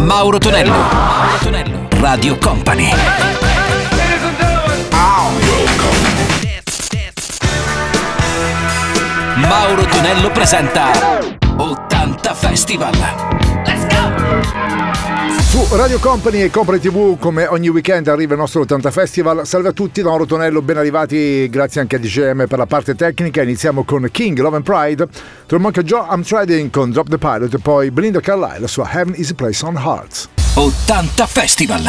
Mauro Tonello. Mauro Tonello. Radio Company. Mauro Tonello presenta 80 Festival. Let's go! Su Radio Company e Company TV, come ogni weekend, arriva il nostro 80 Festival. Salve a tutti, da Mauro Tonello, ben arrivati, grazie anche a DJM per la parte tecnica. Iniziamo con King, Love and Pride, Troy Joe, I'm Trading con Drop the Pilot e poi Belinda Carlisle, la sua Heaven is a Place on Hearts. 80 Festival.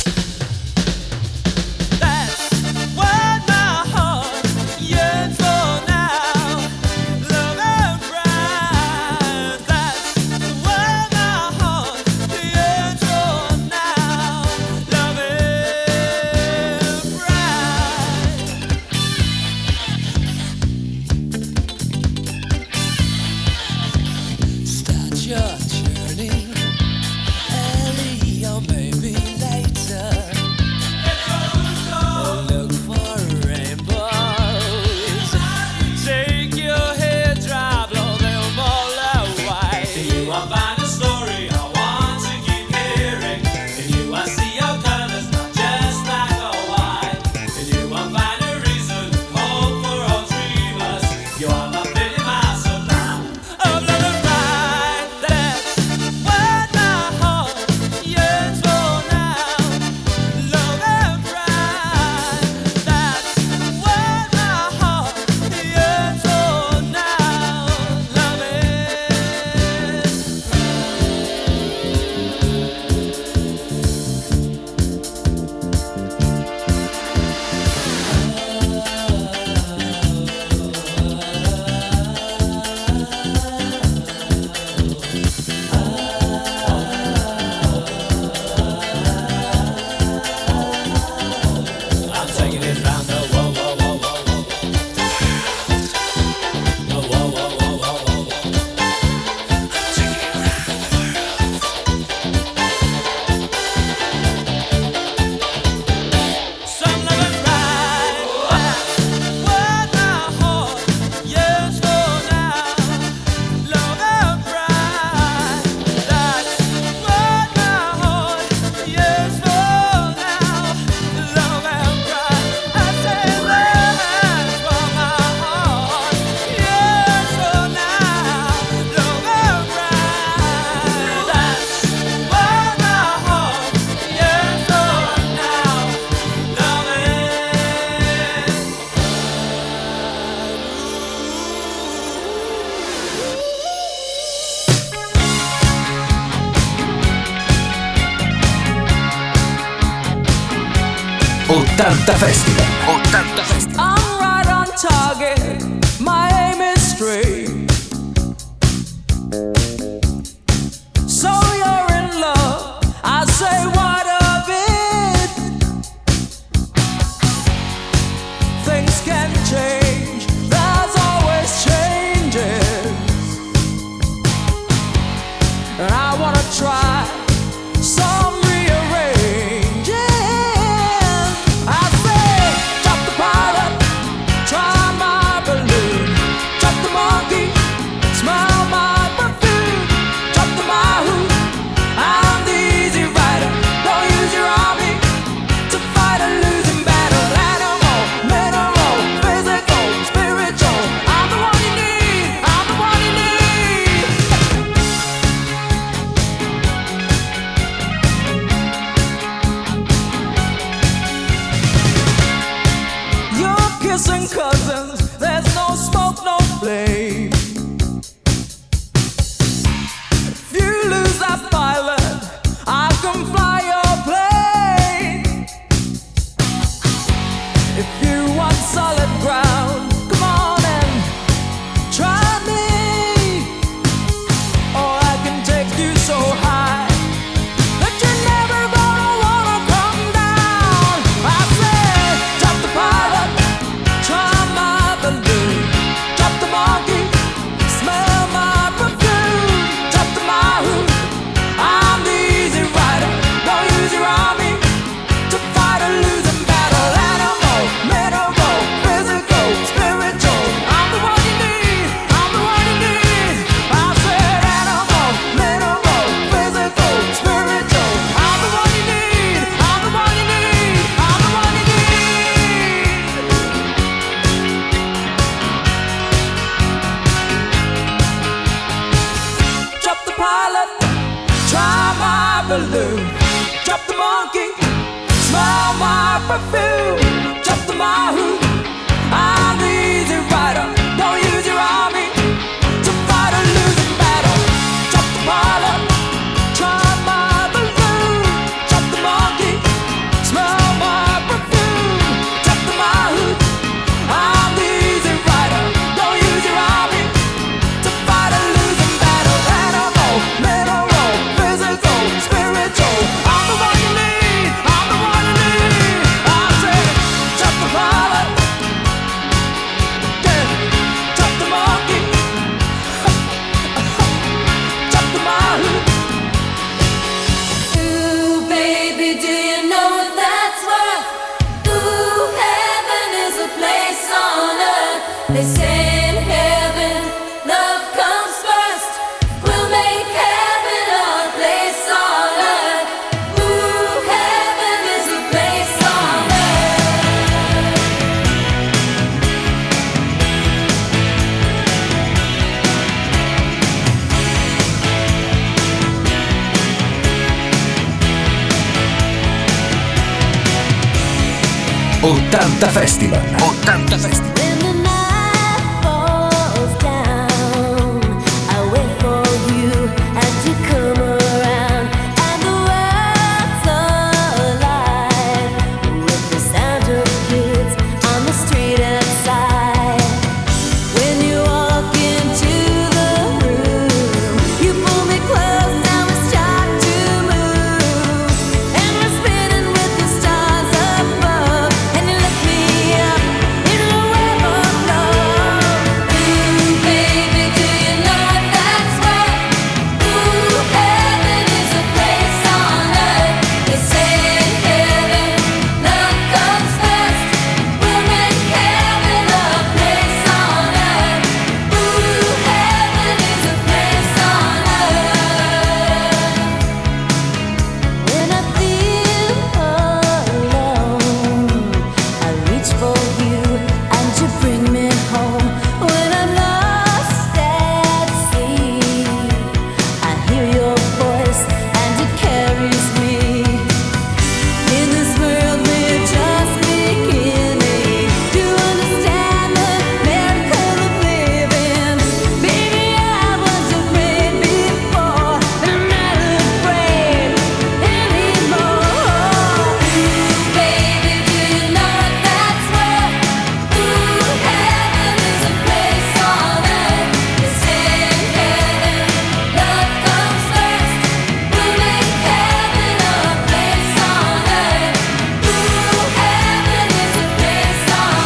Festival. 80 Festival. I'm right on target. My aim is straight. So you're in love. I say what of it? Things can change. There's always changes. And I wanna try some rearranging. I say, drop the pilot, try my balloon, drop the monkey, smell my perfume, drop the mahou, I'm the easy rider. Don't use your army to fight a losing battle. Animal, mineral, physical, spiritual, I'm the one you need, I'm the one you need. You're kissing cousins, there's no smoke, no flame. If you lose that pilot, I can fly your plane. If you want solid ground, come on and try me. Or I can take you so high that you're never gonna wanna come down. I say, drop the pilot, try my balloon, drop the monkey, smell my perfume, drop the mahou, I'm the easy rider. balloon. Drop the monkey, smell my perfume. Drop the mahou, I'm the easy rider. Don't use your army to fight a losing battle. Drop the pilot, try my balloon. Drop the monkey, smell my perfume. Drop the mahou, I'm the easy rider. Don't use your army to fight a losing battle. Animal, mineral, physical, spiritual. I'm the one you need. I'm the one you need. I say, drop the pilot, yeah, drop the monkey, drop the mahou. Ooh, baby, do you know what that's worth? Ooh, heaven is a place on earth. They say in heaven, love comes first. We'll make heaven a place on earth. Ooh, heaven is a place on earth. Ottanta Festival. 80 Festival. When the night falls down, I wait for you and you come around, and the world's alive with the sound of kids on the street outside. When you walk into the room, you pull me close and we start to move, and we're spinning with the stars above, and you lift me up in a web of love. Ooh, baby, do you know what that's worth? Ooh, heaven is a place on earth. They say in heaven, love comes first. We'll make heaven a place on earth. Ooh, heaven is a place on earth. When I feel alone, I reach for you and you bring me home. When I'm lost at sea, I hear your voice and it carries me. In this world we're just beginning to understand the miracle of living. Baby, I was afraid before, but I'm not afraid anymore. Ooh, baby, do you know what that's worth? Ooh, heaven is a place on earth. They say in heaven, love comes first. We'll make heaven a place on earth. Ooh, heaven is a place on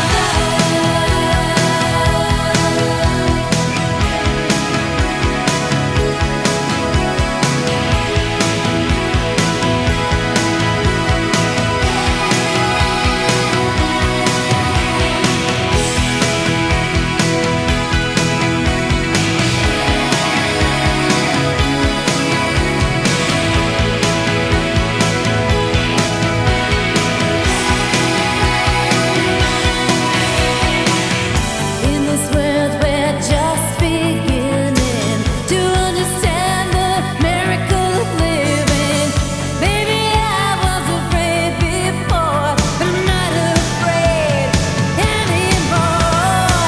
In this world we're just beginning to understand the miracle of living. Baby, I was afraid before, but I'm not afraid anymore.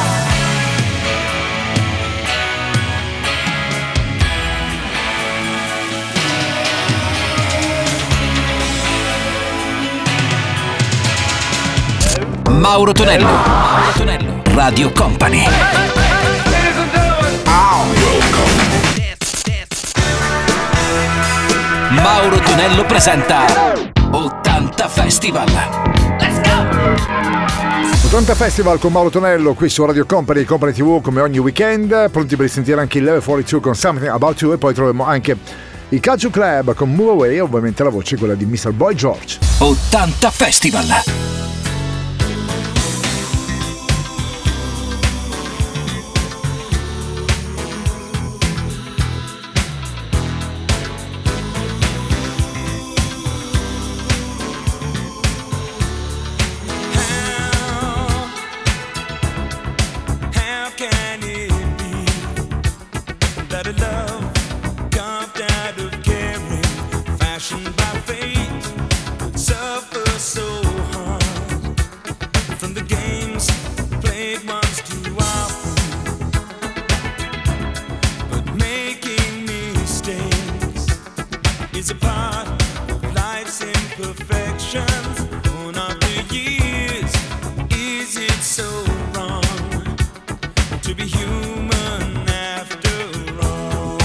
Mauro Tonello. Mauro Tonello. Radio Company. Mauro Tonello presenta 80 Festival. Let's go! 80 Festival con Mauro Tonello qui su Radio Company, Company TV come ogni weekend, pronti per sentire anche il Level 42 con Something About You, e poi troviamo anche il Calcio Club con Move Away e ovviamente la voce quella di Mr. Boy George. 80 Festival. How can it be that a love carved out of caring, fashion is a part of life's imperfections. One of the years, is it so wrong to be human after all?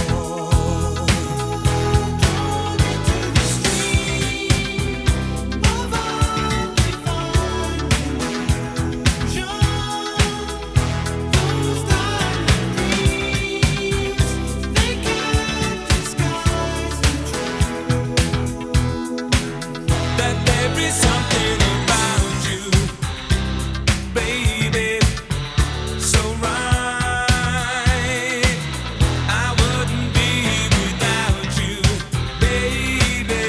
To the stream of undefined illusion, those diamond dreams, they can't disguise the truth that there is something about you, baby, so right. I wouldn't be without you, baby,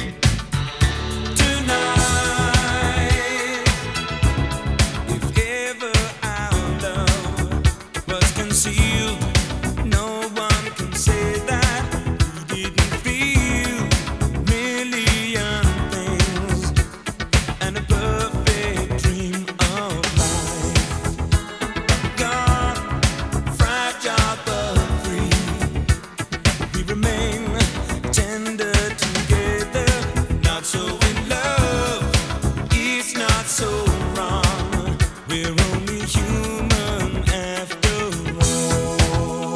tonight. If ever our love was concealed, no one can say that we didn't feel million things and a perfect dream of life. Gone, fragile but free, we remain tender together. Not so in love, it's not so wrong. We're only human after all.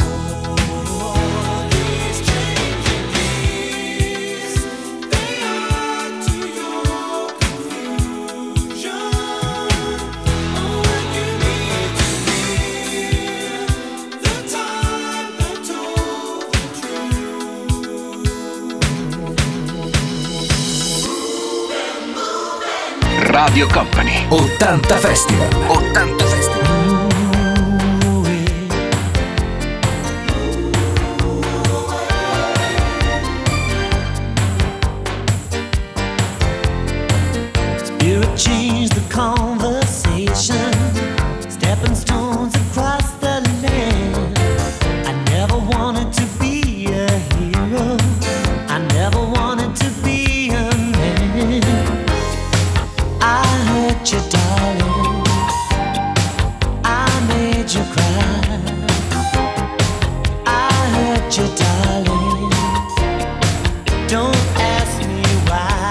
These changing years, they add to your confusion. Oh, when you need to hear the time that told the Radio Company 80 Festival. 80 Festival. Spirit changed the conversation, stepping stones across the land. I never wanted to be a hero, I never wanted to be a man. I hurt you, darling, I made you cry. I hurt you, darling, don't ask me why.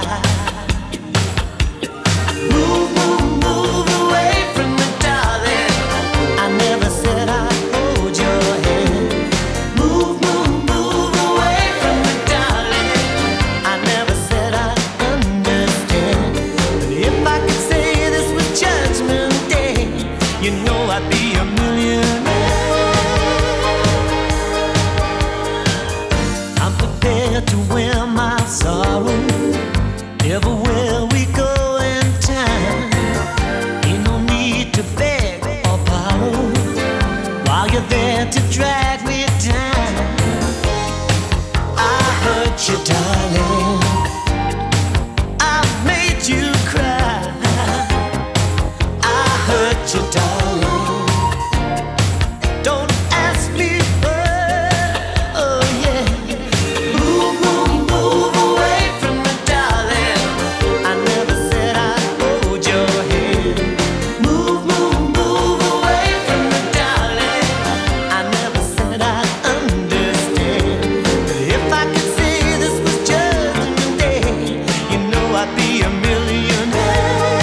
Move, move, move away from me, darling. I never said I'd hold your hand. Move, move, move away from me, darling. I never said I'd understand. But if I could say this was Judgment Day, you know I'd be a millionaire. I'm prepared to wear my sorrow everywhere we go in time. Ain't no need to beg or borrow while you're there to drag me down. I hurt you, darling, I made you cry. I hurt you, darling, don't ask me why. Oh yeah. Move, move, move away from me, darling. I never said I'd hold your hand. Move, move, move away from me, darling. I never said I'd understand. But if I could say this was Judgment Day, you know I'd be a millionaire.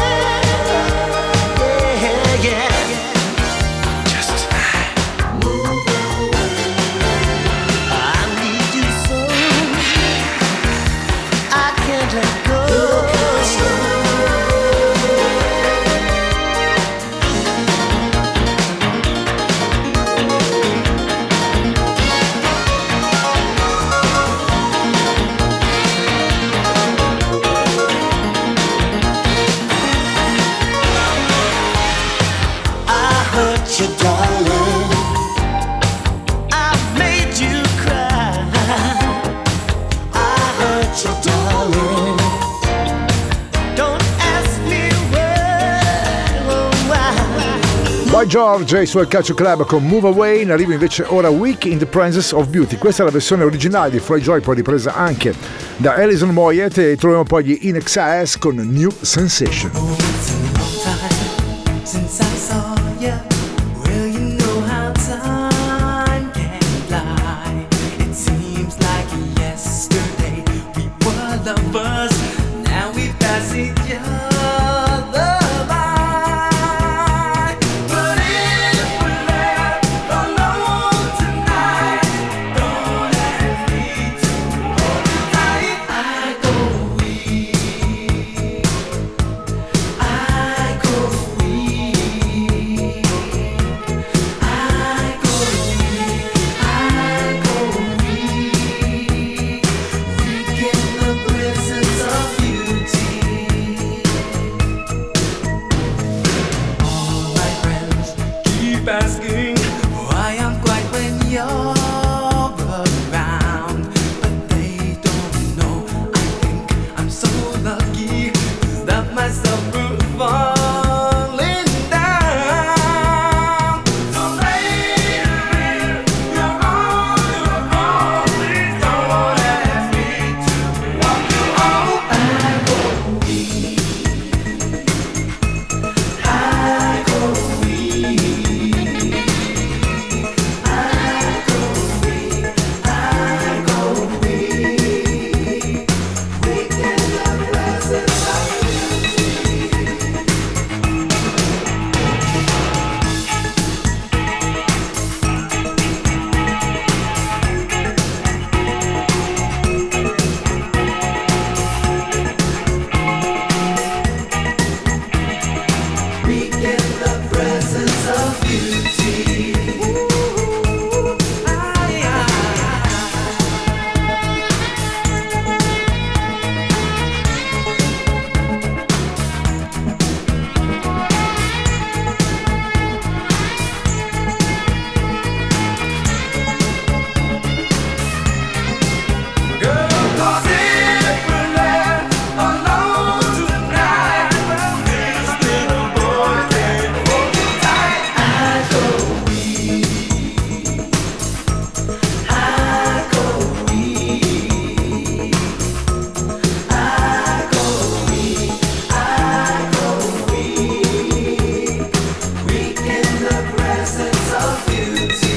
Yeah, yeah. Just move away. I need you so, I can't let go. I hurt you, darling, I made you cry. I hurt you, darling, don't ask me why. Boy George e i suoi Calcio Club con Move Away. Ne arriva invece ora Weak in the Presence of Beauty. Questa è la versione originale di Floyd Joy, poi ripresa anche da Alison Moyet, e troviamo poi gli In Excess con New Sensation. Since I saw you, well, you know how time can fly. It seems like yesterday lovers. Now we pass each other by. But if we're left alone tonight, don't ask me to hold you tight. I go weak. I go weak. I go weak. I go weak. Weak in the presence of beauty. All my friends keep asking why I'm quiet when you're around, but they don't know. I think I'm so lucky to stop myself from falling down. So later, you're on your own. Please don't ask me to walk you home. I go weak. I go weak. I go weak. I go weak. Weak in the presence of weak in the presence of beauty. Girl, 'cause if we're left alone tonight, this little boy can't hold you tight. I go weak. I go weak. I go weak. I go weak. Weak in the presence of beauty.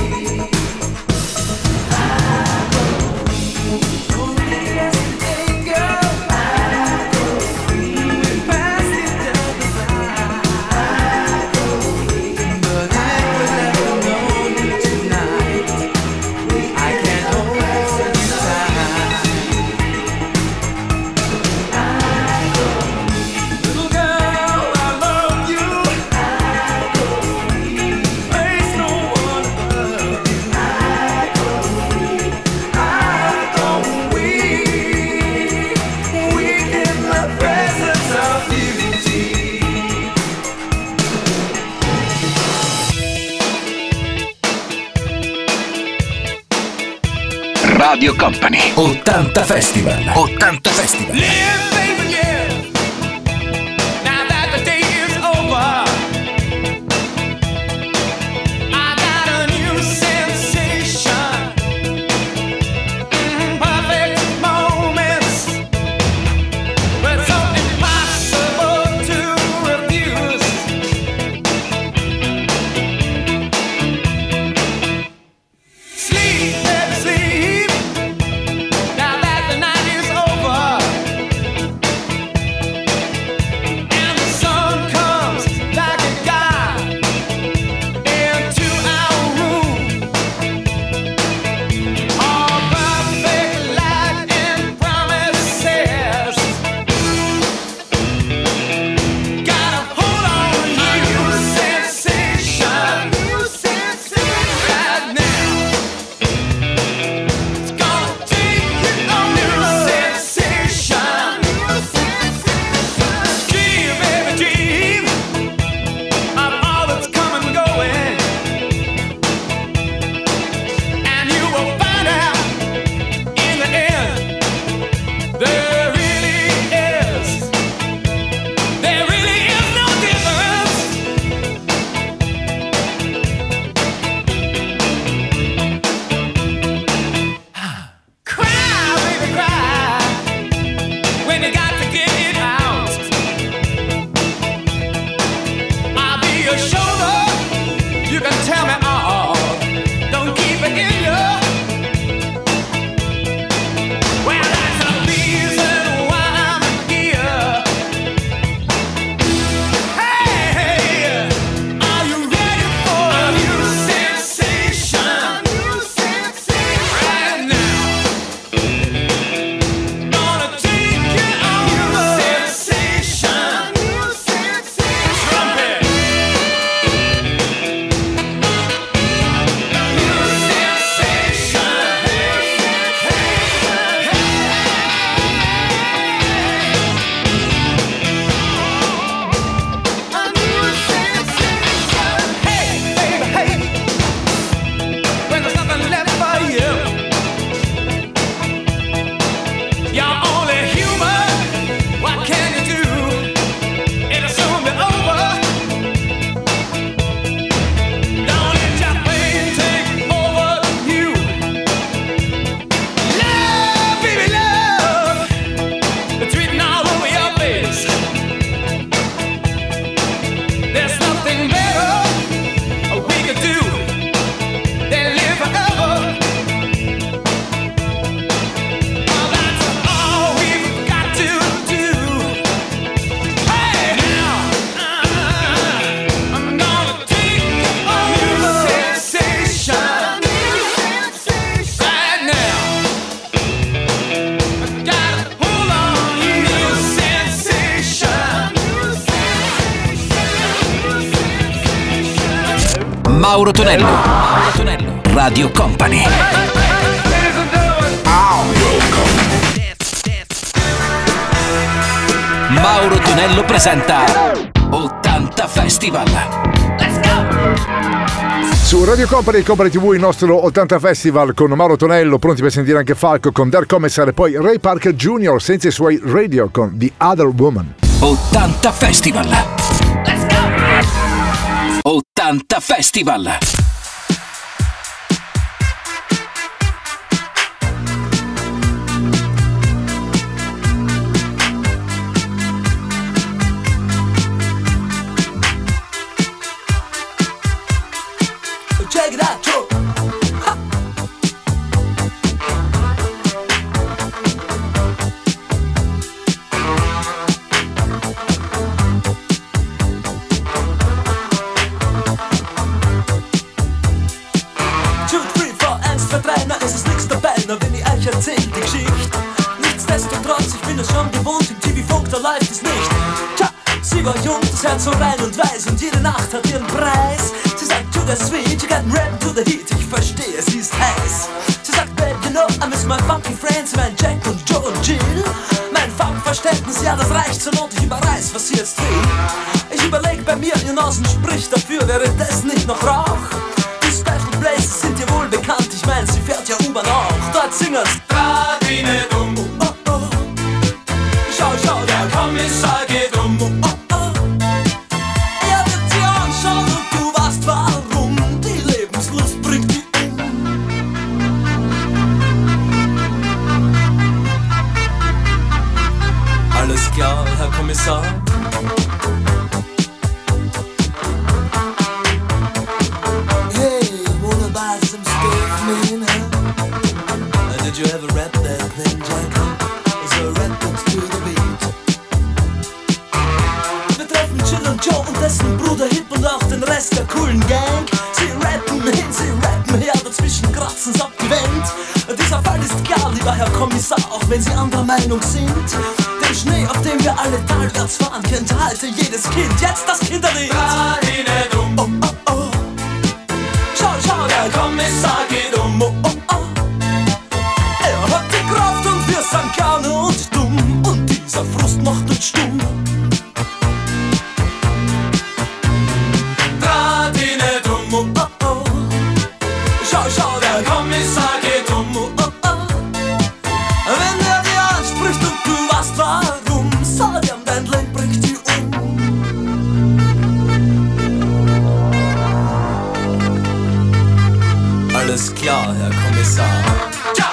Only yesterday, girl, I go weak. We passed each other by. I go weak. But if we're left alone tonight, I can't hold you tight. I go weak. Little girl, I love you. I go weak. There's no one above you. I go weak. I go weak. Weak in the presence of beauty. Radio Company 80 Festival. 80 Festival. Live, baby, live. Now that the day is over, I got a new sensation. Perfect moments, but so impossible to refuse. Sleep, baby, sleep. Now that the night is over, Mauro Tonello. Mauro Tonello. Radio Company. Mauro Tonello presenta 80 Festival. Su Radio Company e Company TV il nostro 80 Festival con Mauro Tonello, pronti per sentire anche Falco con Der Commissar e poi Ray Parker Jr. senza i suoi radio con The Other Woman. 80 Festival. 80 Festival. Check it out, Joe. Wenn ich euch erzähl die Geschichte. Nichtsdestotrotz, ich bin es schon gewohnt, im TV-Funk, da läuft es nicht. Tja, sie war jung, das Herz so rein und weiß und jede Nacht hat ihren Preis. Sie sagt, to the sweet, you got rap to the heat, ich verstehe, sie ist heiß. Sie sagt, babe, you know, I miss my funky friends, mein Jack und Joe und Jill. Mein Funkverständnis, ja, das reicht zur Not, ich überreiß, was sie jetzt will. Ich überleg bei mir, ihr Nasen spricht dafür, wäre das nicht noch Rauch? Die Special Places sind dir wohl bekannt, ich mein, sie fährt ja U-Bahn auch. Dort singen's Radine dumm, oh, oh. Schau, schau, der Kommissar geht um, oh, oh. Er wird dir anschauen und du weißt warum. Die Lebenslust bringt die um. Alles klar, Herr Kommissar? Did you ever rap that thing, Jacob? So rap it to the beat. Wir treffen Jill und Joe und dessen Bruder Hip und auch den Rest der coolen Gang. Sie rappen hin, sie rappen her, dazwischen kratzen's ab die Wand. Dieser Fall ist klar, lieber Herr Kommissar, auch wenn Sie anderer Meinung sind. Den Schnee, auf dem wir alle talwärts fahren, kennt heute jedes Kind. Jetzt das Kinderlied. Radine dumm, oh, oh, oh. Schau, schau, der Kommissar geht um, oh, oh, oh. Er hat die Kraft und wir sind gerne und dumm. Und dieser Frust macht uns stumm. Radine dumm, oh, oh, oh. Schau, schau, der Kommissar geht um, oh, oh, oh. Wenn er dir anspricht und du weißt warum, sag ihm, dein Leben bringt dich um. Alles klar, Herr Kommissar. Ja!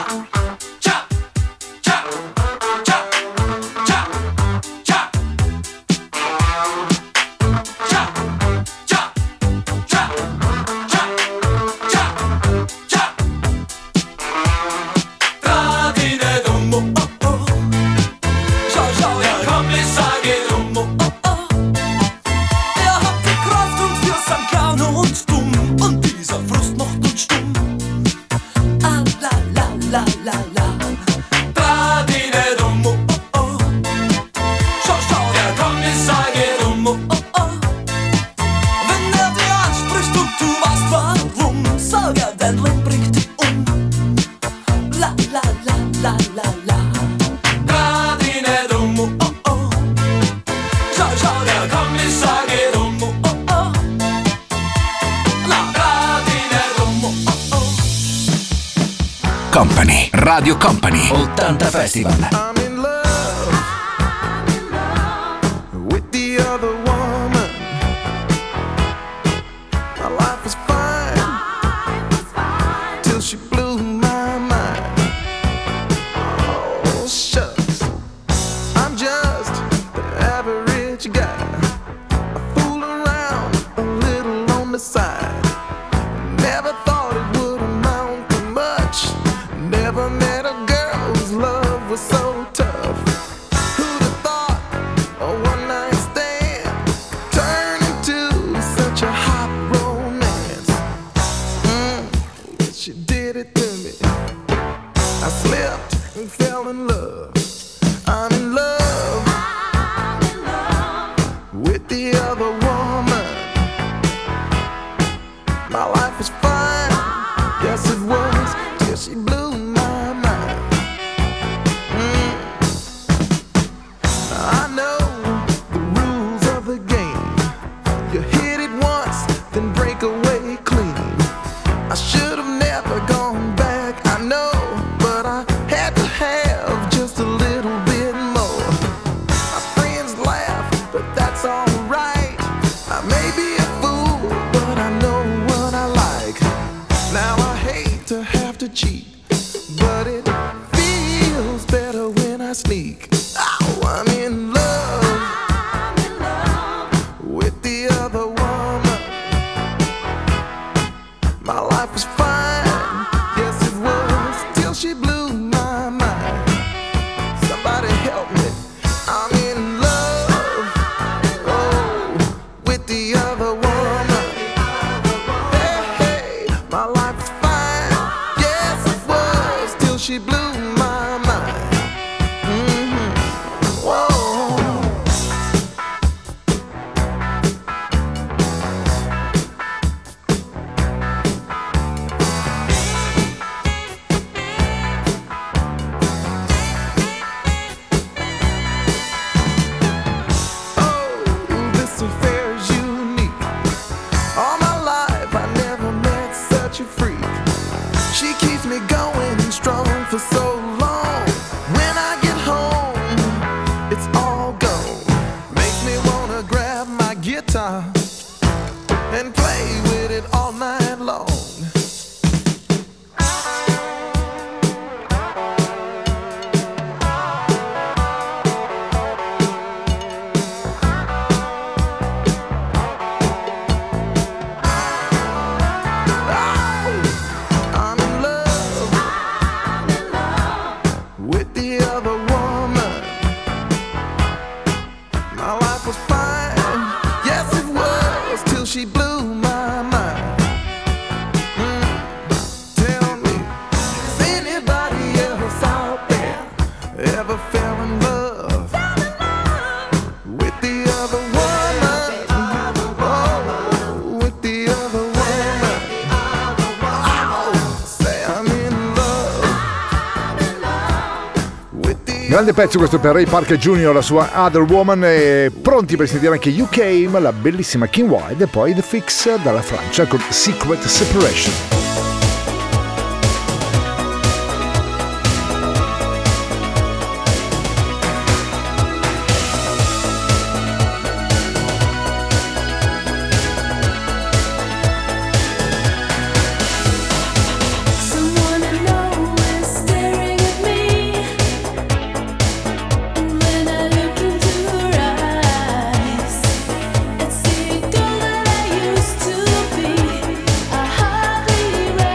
Company, Radio Company, 80 Festival. I'm in love with the other woman. My life was fine till she blew my mind. Oh, shucks, I'm just an average guy. I fool around a little on the side. Never thought it would amount to much. Never met a girl whose love was so tough. Who'd have thought a one-night stand sneak. Oh, I'm in love with the other woman. My life was fine, yes it was, till she blew my mind. Somebody help me. I'm in love, oh, with the other woman. Hey, hey, my life was fine, yes it was, till she blew my mind. Whoa. Oh, this affair is unique. All my life I never met such a freak. She keeps me going strong for so long. When I get home, it's all gone. Makes me wanna grab my guitar and play with it all night long. I'm in love with the other woman. My life was fine, yes it was, till she blew my mind. Tell me, has anybody else out there ever fell in love with the other woman? Oh, with the other woman. Say I'm in love with the Grande pezzo questo per Ray Parker Jr., la sua Other Woman, e pronti per sentire anche You Came, la bellissima King Wild, e poi The Fix dalla Francia con Secret Separation. Someone I know is staring at me, and when I look into her eyes, it's the girl that I used to be. I hardly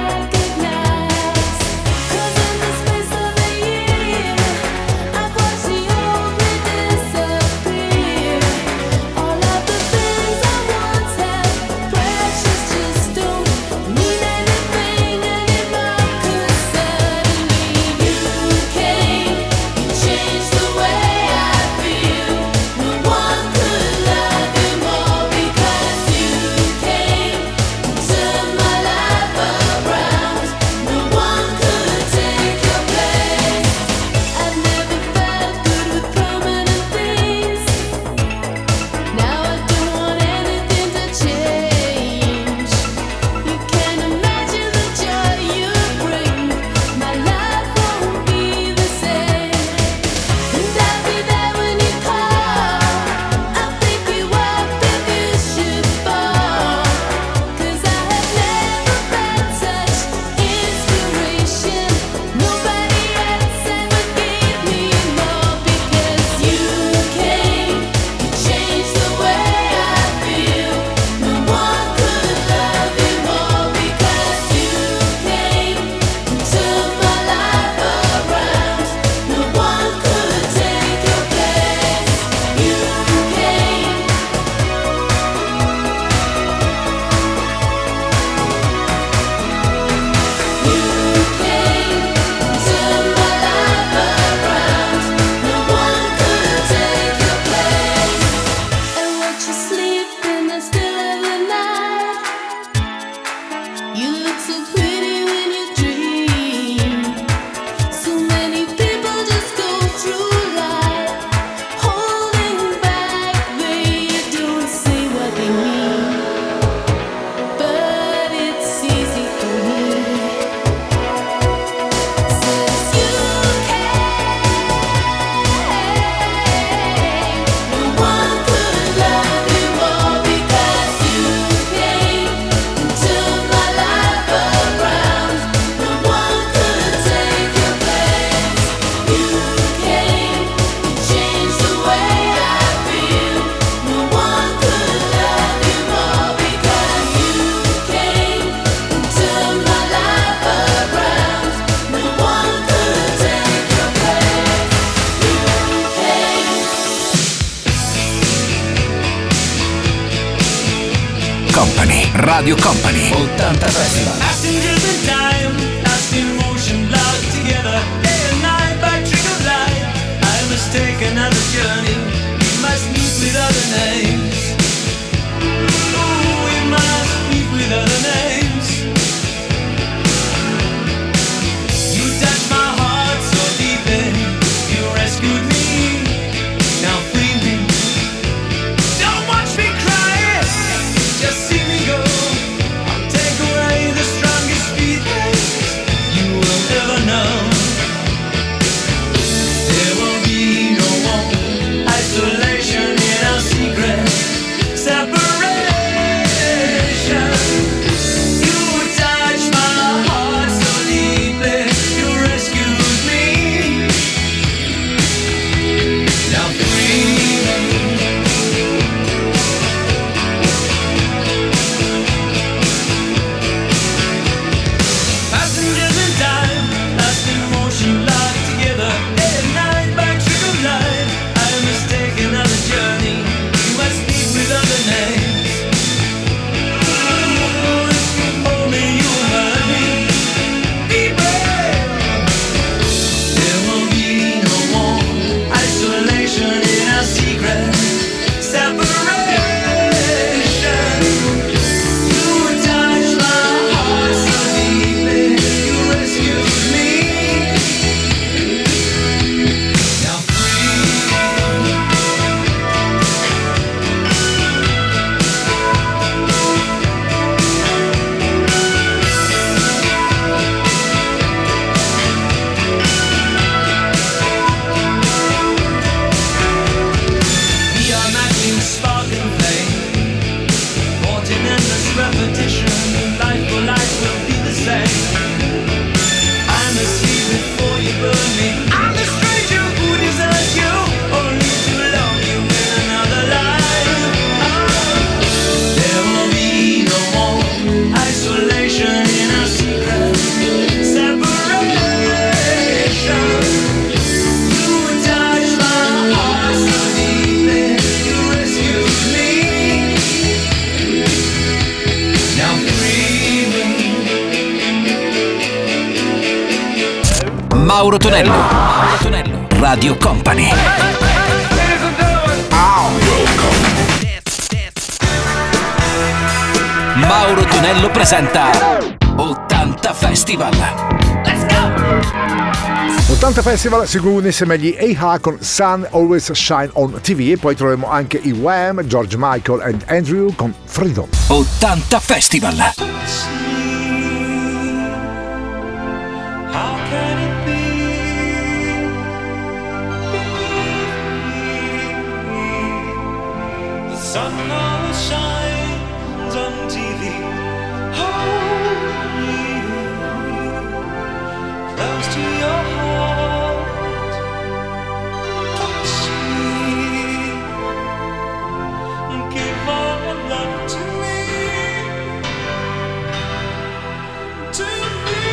Radio Company 80 Festival. Passengers in time, lost in motion, locked together, day and night by trick of light. I must take another journey. We must meet with other names. Oh, we must meet with other names. You touched my heart so deeply. You rescued me. Now free me. Don't watch me cry. Just see me go. I'll take away the strongest feelings you will ever know. There will be no more isolation in our secret separation. You touched my heart so deeply. You rescued me. Now free me. Passengers in time, lost in motion, locked together, day and night by trick of light. I must take another journey. You must meet with other names. Oh, if you hold me, you will hurt me. Be brave. There will be no more isolation in our secret separation. You touched my heart so deeply. You rescued me. Now we are matching spark and flame, caught in endless repetition. Life for life will be the same. I must leave before you burn me. I'm the stranger who deserts you, only to love you in another life. There will be no more isolation in our secret separation. You touched my heart so deeply. You rescued me. Now free me. Mauro Tonello. Mauro Tonello. Radio Company. Mauro Tonello presenta 80 Festival. 80 Festival si conclude insieme agli A-Ha con Sun Always Shine on TV e poi troveremo anche i Wham, George Michael and Andrew con Freedom. 80 Festival. How can it be? The sun always shines on TV. Hold me close to your heart. Touch me. Give all your love to me. To me.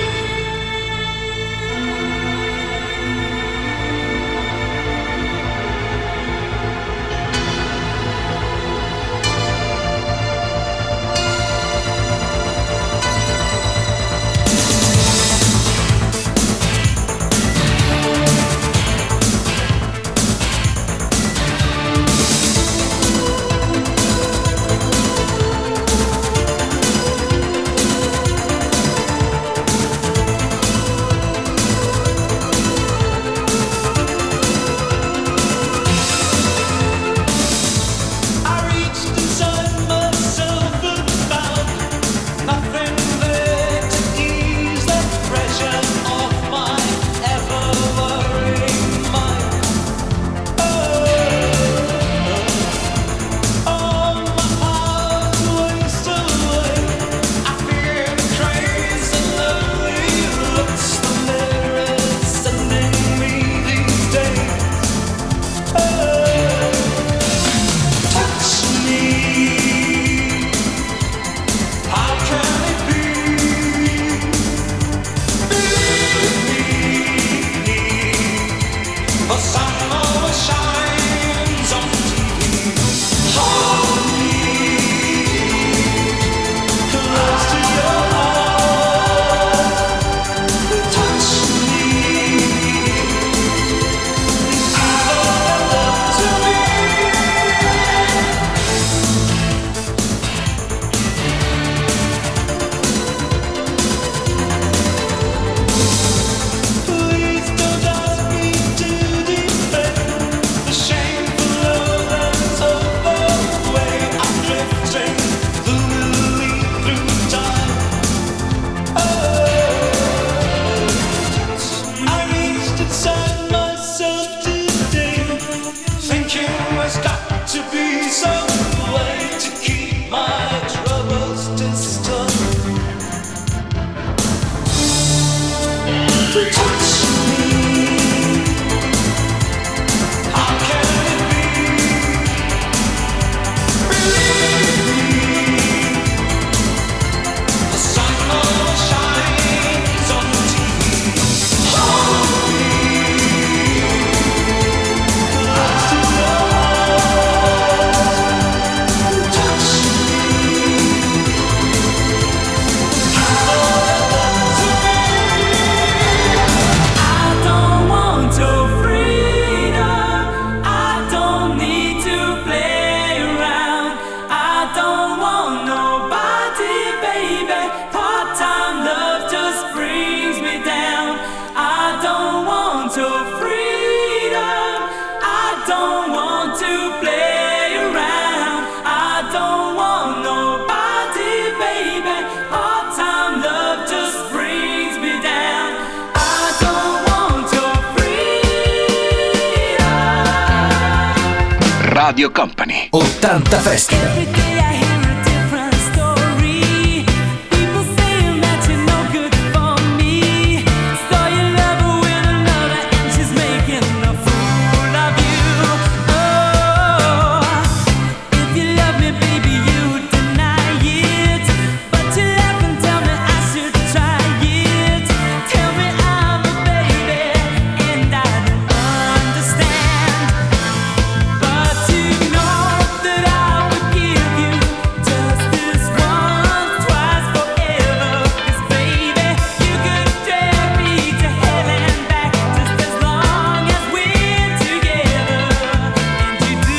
Radio Company 80 Festival. Every day I hear a different story. People saying that you're no good for me. So you love her with another and she's making a fool of you. Oh, if you love me, baby, you deny it. But you laugh and tell me I should try it. Tell me I'm a baby and I don't understand. But you know that I would give you just this once, twice, forever. 'Cause baby, you could drag me to hell and back just as long as we're together. And you do.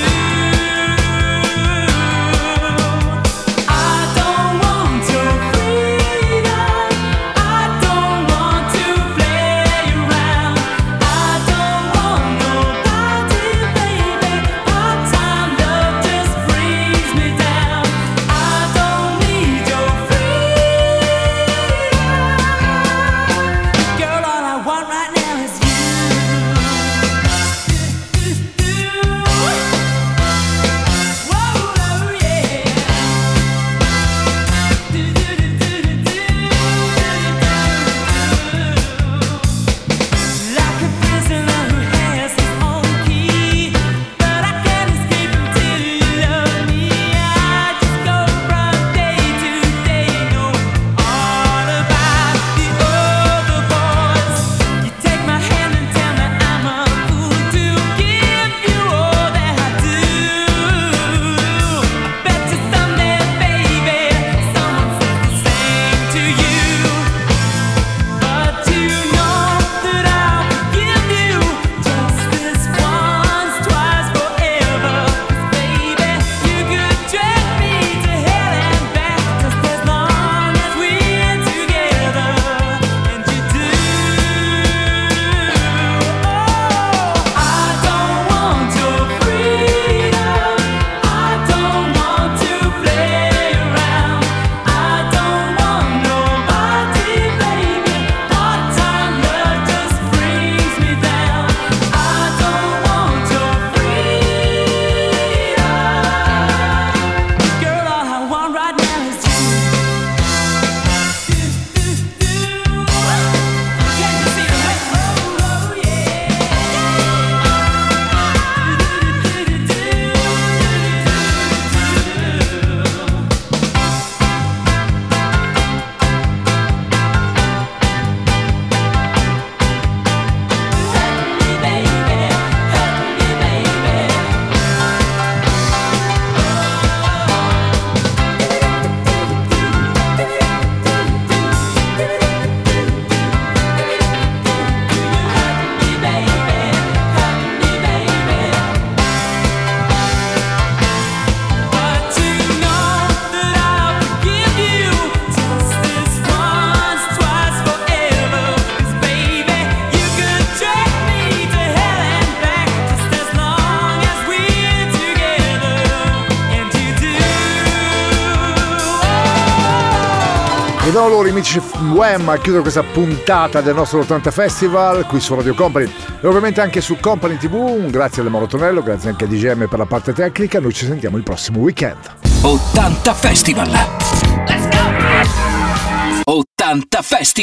I don't want your freedom. I don't want to play around. I don't want nobody, baby. Part-time love just brings me down. I don't need your freedom. Girl, all I want right now is you. Whoa, yeah. Like a prisoner who has his own key, but I can't escape until you love me. I just go from day to day, know all about the other boys. You take my hand and tell me I'm a fool to give you all that I do. I bet you someday, baby, someone says the same to you. But you know that I would give you just this once, twice, forever. 'Cause baby, you could drag me to hell and back just as long as we're together. And you do. Oh, I don't want your freedom. I don't want to play around. I don't want nobody, baby. Part-time love just brings me down. I don't want your freedom. Girl, all I want right now is you. Can you see the way? Oh, yeah. Hurt me, baby. Hurt me, baby. Hurt me, baby. Hurt me, baby. But you know that I would give you just this once, twice, forever. 'Cause baby, you could drag me to hell and back just as long as we're together. And you do. Ed ora loro amici Wham a chiudere questa puntata del nostro 80 Festival qui su Radio Company e ovviamente anche su Company TV. Un grazie alle Mauro Tonello, grazie anche a DGM per la parte tecnica. Noi ci sentiamo il prossimo weekend. 80 Festival. Let's go! 80 Festival.